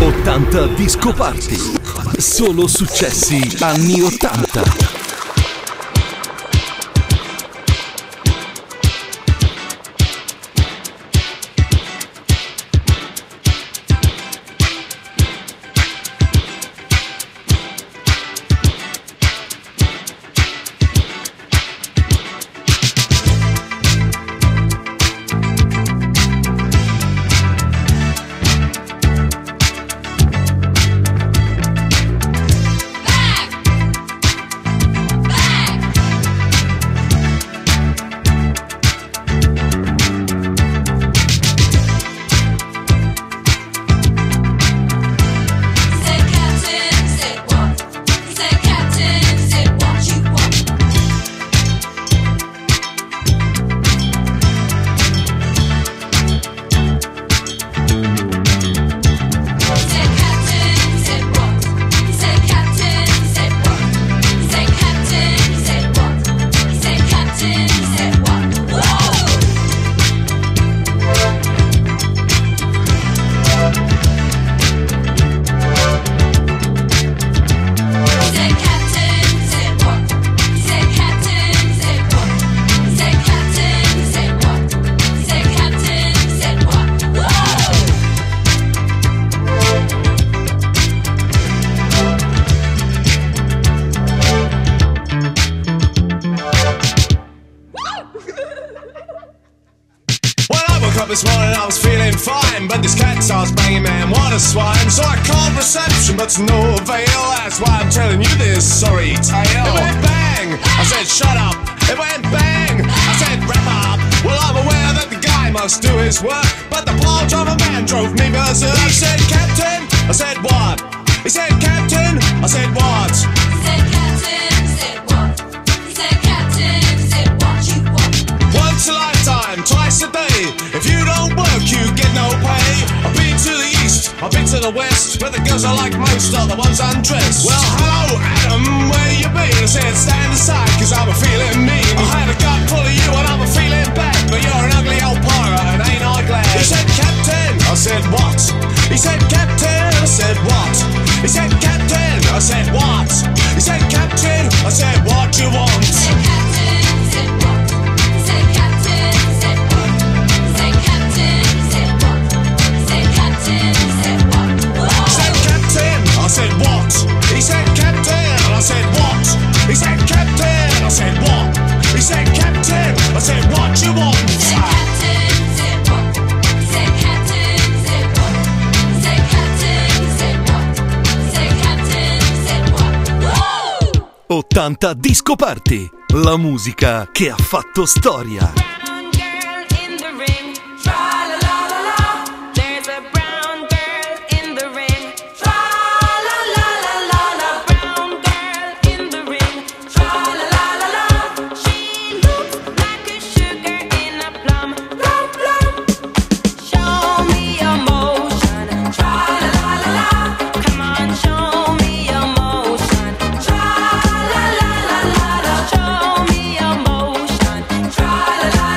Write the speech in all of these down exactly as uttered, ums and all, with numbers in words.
ottanta Disco Party. Solo successi anni ottanta. This morning I was feeling fine, but this cat starts banging, man, what a swine. So I called reception, but to no avail. That's why I'm telling you this sorry tale. It went bang, I said shut up. It went bang, I said wrap up. Well, I'm aware that the guy must do his work, but the plow driver man drove me berserk. He said captain, I said what? He said captain, I said what? He said captain, I said what? He said captain, I said what you want. Once a lifetime, twice a day. If you don't work, you get no pay. I've been to the east, I've been to the west, but the girls I like most are the ones undressed. Well, hello, Adam, where you been? I said, stand aside, cause I'm a feeling mean. I had a gut full of you and I'm a feeling bad, but you're an ugly old pirate and ain't I glad? He said, captain, I said, what? He said, captain, I said, what? He said, captain, I said, what? He said, captain, I said, what you want? He said, captain, I said, what? He said, captain, I said, what? He said, captain, I said, what? He said, captain, I said, what? He said, captain, I said, what? He said, captain, I said, what? He said, captain, I said, what? He said, captain, I said, what you want? He said, captain, I said, what? He said, captain, I said, what? He said, captain, I said, what? He said, captain, I said, what? ottanta Disco Party. La musica che ha fatto storia. La la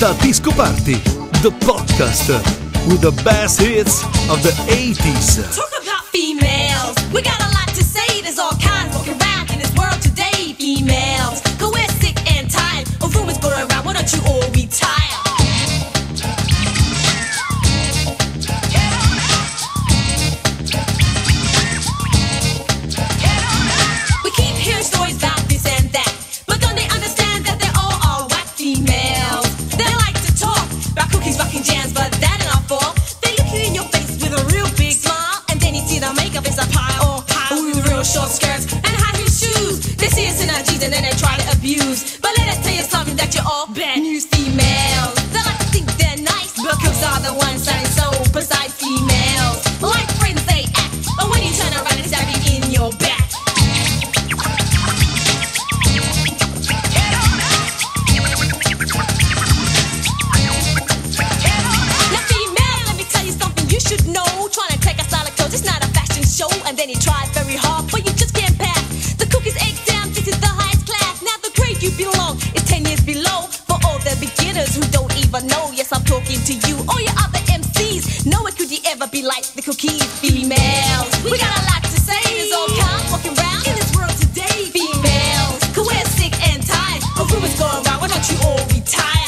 ottanta Disco Party, the podcast with the best hits of the eighties. Talk about females. We got a lot to say. There's all kinds walking around in this world today. Females, 'cause we're sick and tired of rumors going around. Why don't you all retire? We keep hearing stories about this and that, but don't they understand that they're all all white females? They like to talk about cookies, rocking jams, but that ain't our fault. They look you in your face with a real big smile, and then you see the makeup is a pile, pile with real short skirts and high heel shoes. They see us in our jeans and then they try to abuse. But let us tell you something that you're all bad news females. They like to think they're nice, but cooks are the ones sounding so precise. Females, like friends they act, but when you turn around it's stabbing in your back. Now female, let me tell you something you should know. Trying to take a style of clothes, it's not a fashion show. And then you try very hard, but you just can't pass the cookies exam. This is the highest class. Now the grade you belong is ten years below. For all the beginners who don't even know, yes, I'm talking to you. All your other M Cs, nowhere could you ever be like the cookies. Females, we got a lot to say. There's all kinds walking around in this world today. Females, 'cause we're sick and tired of rumors going around. Why don't you all retire?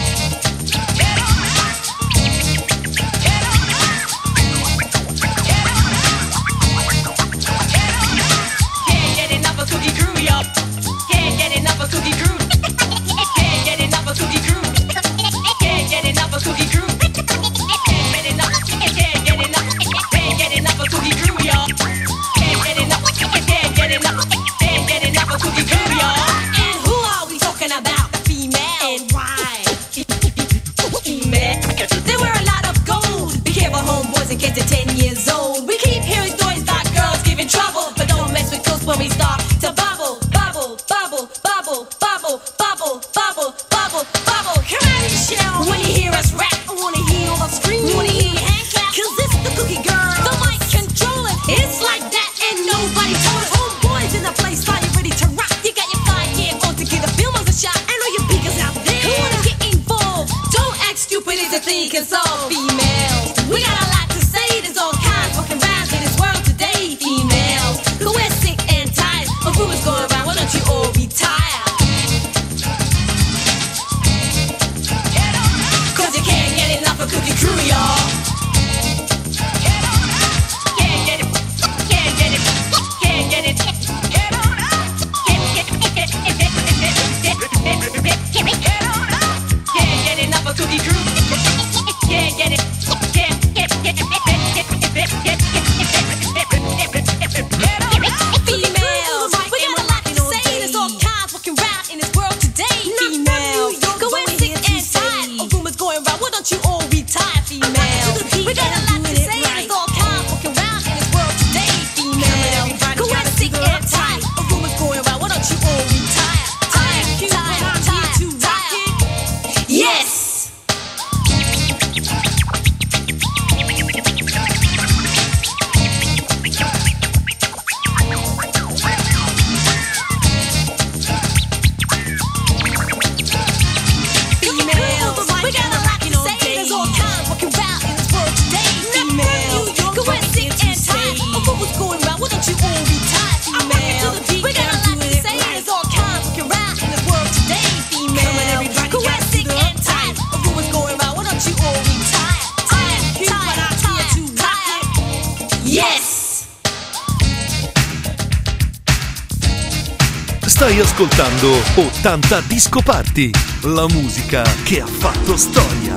Can't get enough of Cookie Crew, yup. Can't get enough of Cookie Crew. Can't get enough of Cookie Crew. Can't get enough of Cookie Crew. Can't get enough. Can't get enough. Can't get enough of Cookie Crew, y'all. Can't get enough. Can't get enough. Can't get enough of Cookie Crew, y'all. And who are we talking about? The female. And why? Female. They wear a lot of gold. Be careful, homeboys, in case they're ten years old. We keep hearing stories about girls giving trouble, but don't mess with us when we start to bubble, bubble, bubble, bubble, bubble, bubble, bubble, bubble, bubble. Come on, Michelle. When you hear us rap, I wanna hear all the screams. Wanna hear your hand clap, 'cause it's the Cookie Girl. The mic controller, it's like that, and nobody told us. Homeboys in the place, are you ready to rock? You got your five year on to give the filmers a shot. And all your beakers out there who wanna get involved, don't act stupid, it's a thing can solve. Females, we got a lot to say. There's all kinds walking around in this world today. Females, 'cause we're sick and tired of rumors going around. Why don't you all retire? 'Cause you can't get enough of Cookie Crew, y'all. Can't get it, can't get it, can't get it. Get on up. Can't get it, can't get enough of Cookie Crew. Can't get it, can't get get Females, we got a lot to say. There's all kinds walking around in this world today. Females, 'cause we're sick and tired of rumors going around. Why don't you all retire? Females, we got a lot to say. There's all kinds walking around in this world today. Females, 'cause we're sick and tired of rumors going around. Why don't you all retire? Tire, tire, tire, tire. Yes. Females, we got a lot to say. There's all kinds walking around in this world today. Females, 'cause we're sick and tired of rumors going around. Why don't you all retire? Females, we got a lot to say. There's all kinds walking around in this world today. Females, 'cause we're sick and tired of rumors going around. Why don't you all retire? Tire, tire, tire, tire. Yes. Stai ascoltando ottanta Disco Party, la musica che ha fatto storia.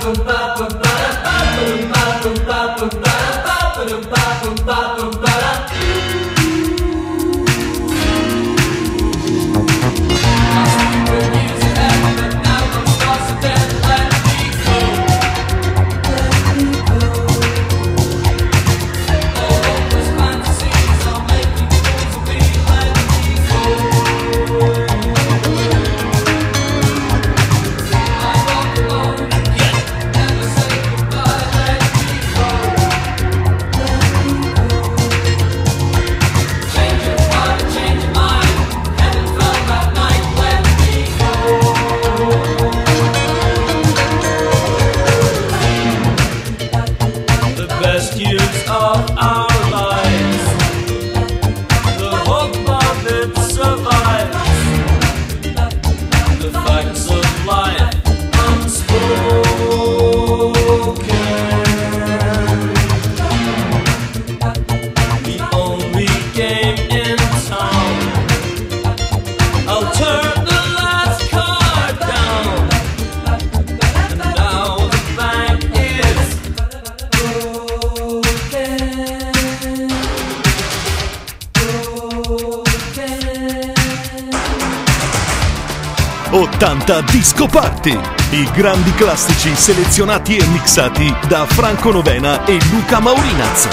ottanta Disco Party, i grandi classici selezionati e mixati da Franco Novena e Luca Maurinaz.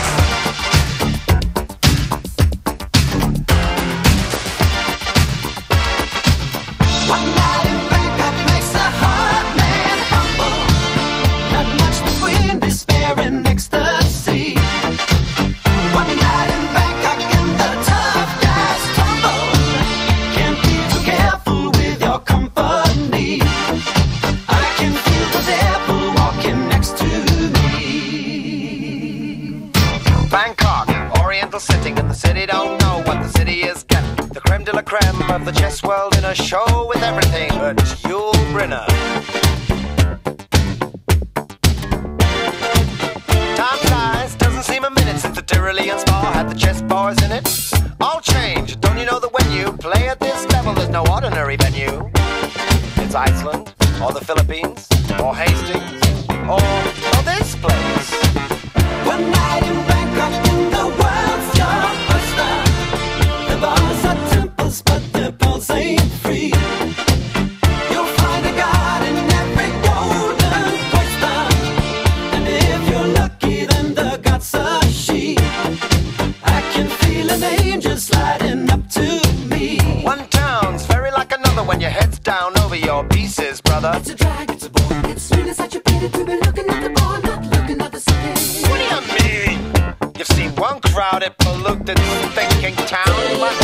Of the chess world in a show with everything but Yul Brynner. Time flies, doesn't seem a minute since the Tyrolean Spa had the chess bars in it. All change, don't you know that when you play at this level there's no ordinary venue? It's Iceland, or the Philippines, or Hastings, or, or this place. One night in Bangkok in the world's your oyster. The bars are temples but the pulse ain't free. You'll find a god in every golden cloister, and if you're lucky then the god's a she. I can feel an angel sliding up to me. One town's very like another when your head's down over your pieces, brother. It's a drag, it's a bore, it's really such a pity to be looking at the bar, not looking at the city. What do you mean? You've seen one crowded, polluted, thinking town.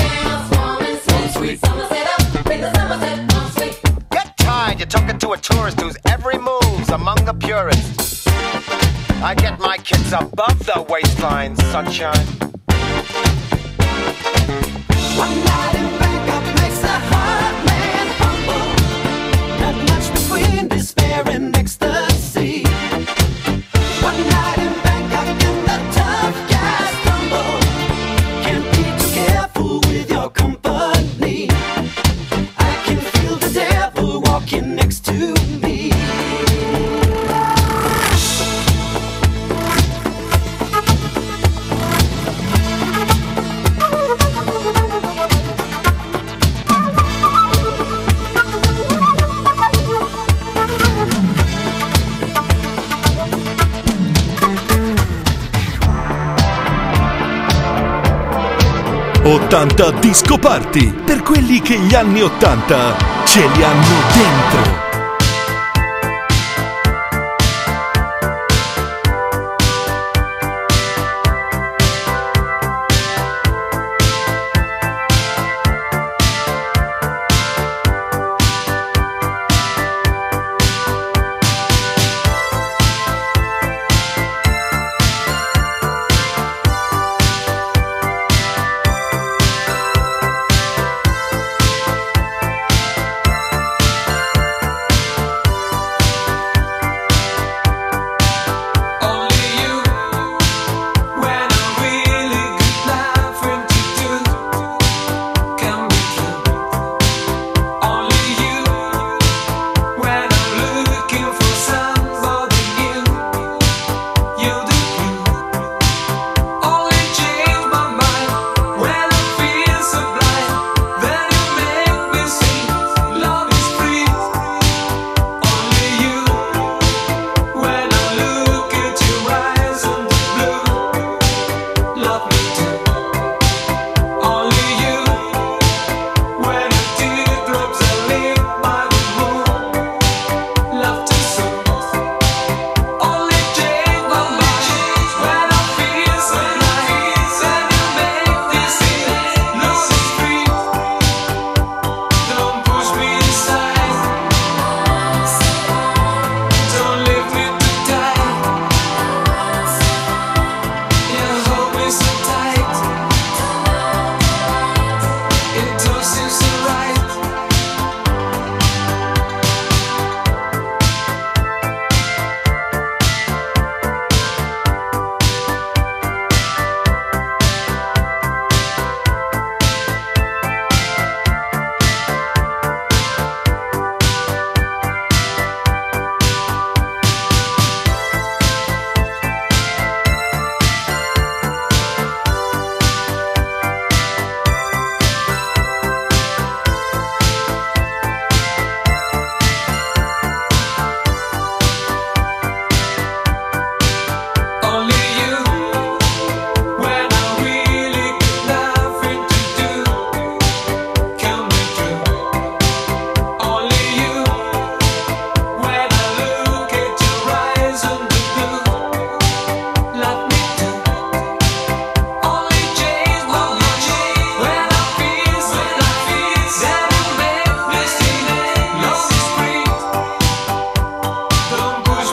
Get tired, you're talking to a tourist whose every move's among the purists. I get my kids above the waistline, sunshine. One night in Bangkok makes a hard man humble. Not much between despair and ecstasy. One night in Bangkok and the tough guys tumble. Can't be too careful with your company. I can feel the devil walking next to me. ottanta Disco Party, per quelli che gli anni ottanta ce li hanno dentro.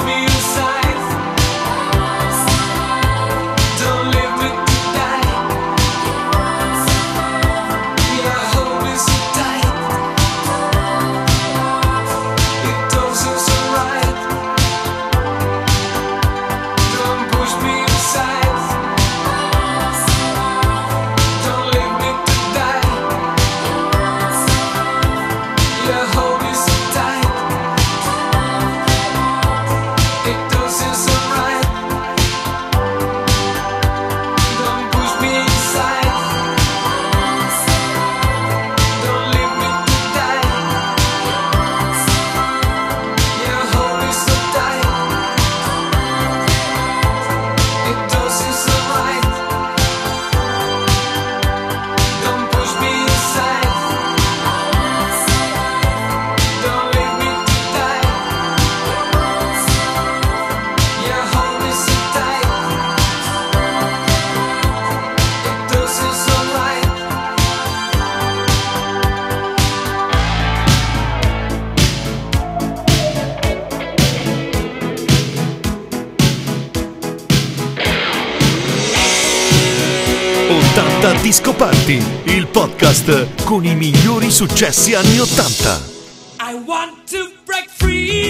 ottanta Disco Party, il podcast con i migliori successi anni ottanta. I want to break free.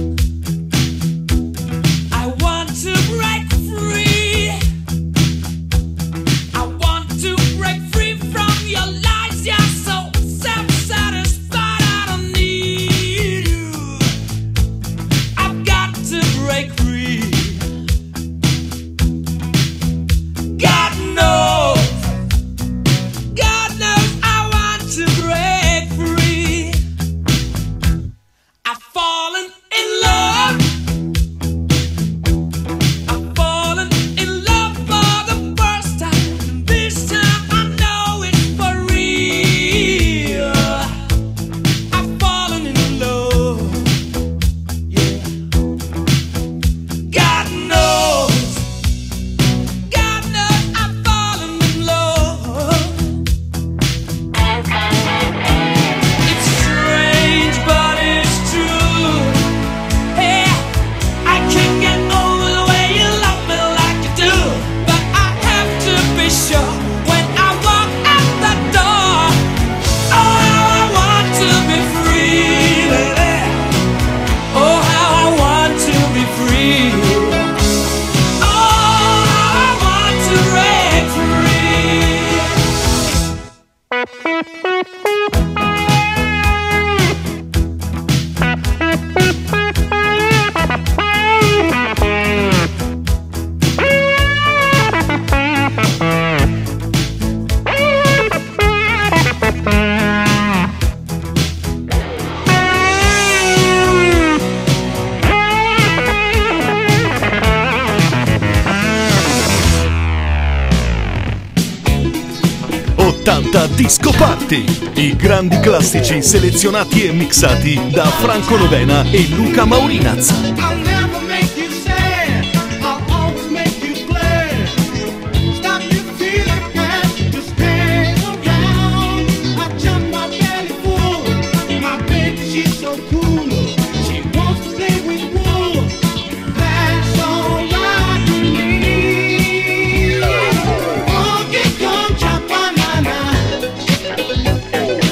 I want to break free. I want to break free from your lies. You're so self-satisfied. I don't need you. I've got to break free. God knows. God knows I want to break free. I've fallen in love. I've fallen in love for the first time. This time I know it's for real. I've fallen in love. Yeah. God knows. God knows I've fallen in love. It's strange, but it's true. Hey, I can't get over the way you love me like you do. But I have to be sure when I walk out the door. Oh, how I want to be free, baby. Oh, how I want to be free. Oh, how I want to break free. ottanta Disco Party, i grandi classici selezionati e mixati da Franco Novena e Luca Maurinaz. I'll never make you sad. I'll always make you glad. Stop you feeling bad. Just hang around. I jump my belly full. My baby, she's so cool. She wants to play with wool. That's all right with me. Donkey Kong Cha-Banana.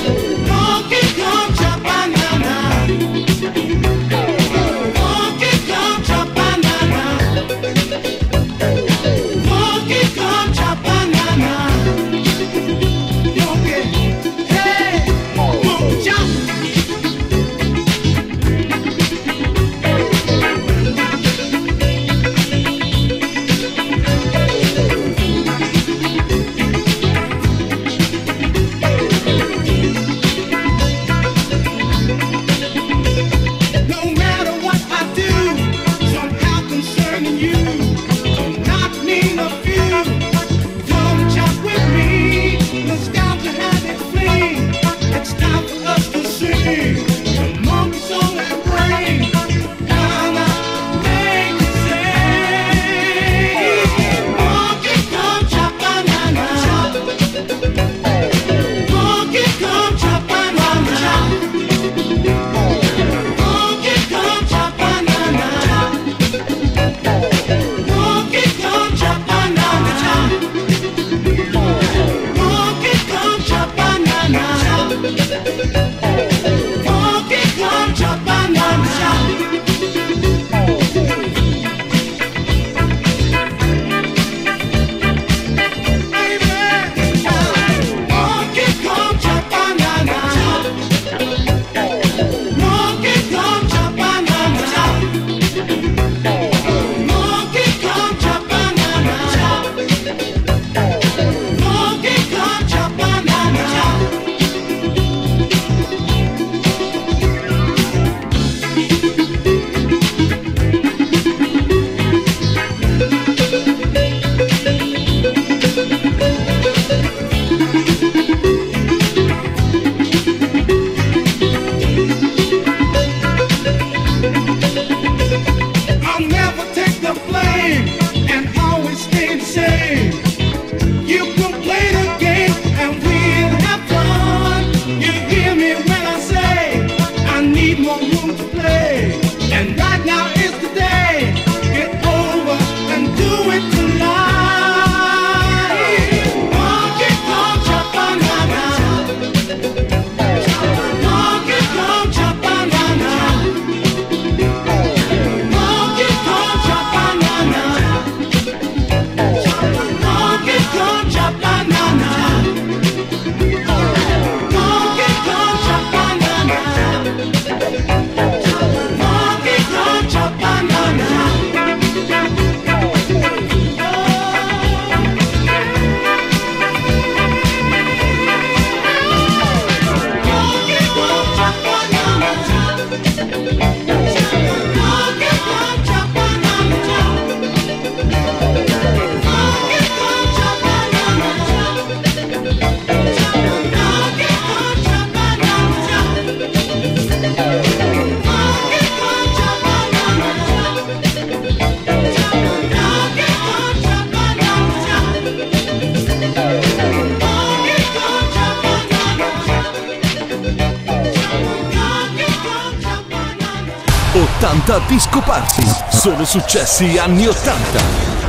Donkey Kong Cha-Banana. Donkey ottanta Disco Party. Solo successi anni ottanta.